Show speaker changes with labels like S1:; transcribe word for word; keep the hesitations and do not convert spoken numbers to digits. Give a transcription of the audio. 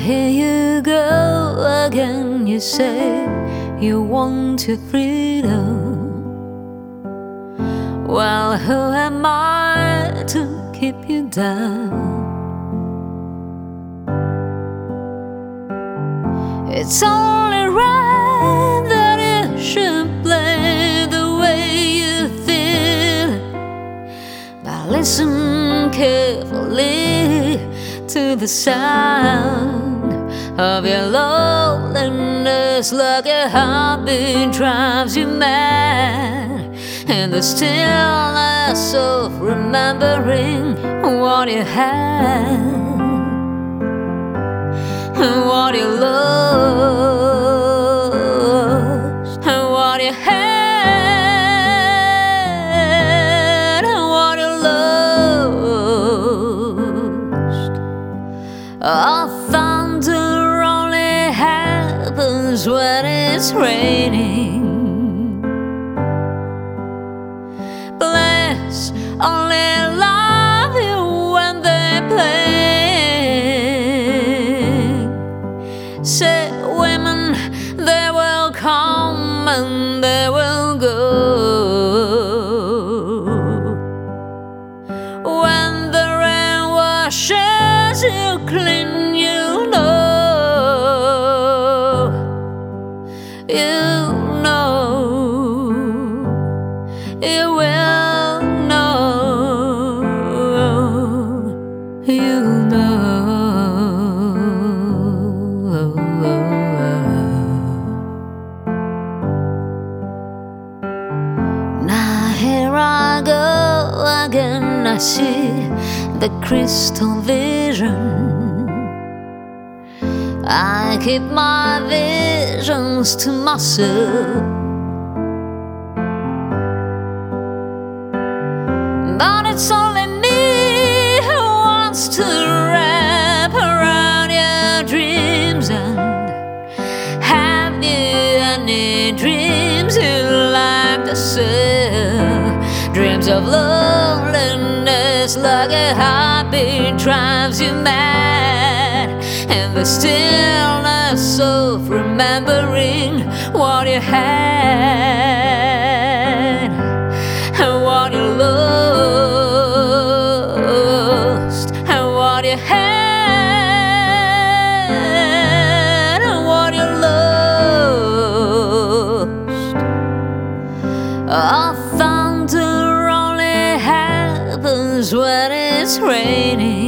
S1: here you go again. You say you want your freedom. Well, who am I to keep you down? It's only right that you should play the way you feel. Now listen carefully to the sound of your loneliness, like a heartbeat drives you mad, and the stillness of remembering what you had and what you lost and what you had and what you lost. Our thunder only happens when it's raining. Bless only love you when they play. Say women, they will come and they will go. When the rain washes you clean, you know, you know, you will know, you know. Here I go again, I see the crystal vision. I keep my visions to myself, but it's only me who wants to wrap around your dreams. And have you any dreams you like to say? Dreams of loneliness, like a heartbeat drives you mad, and the stillness of remembering what you had and what you lost and what you had and what you lost. Our thunder only happens when it's raining.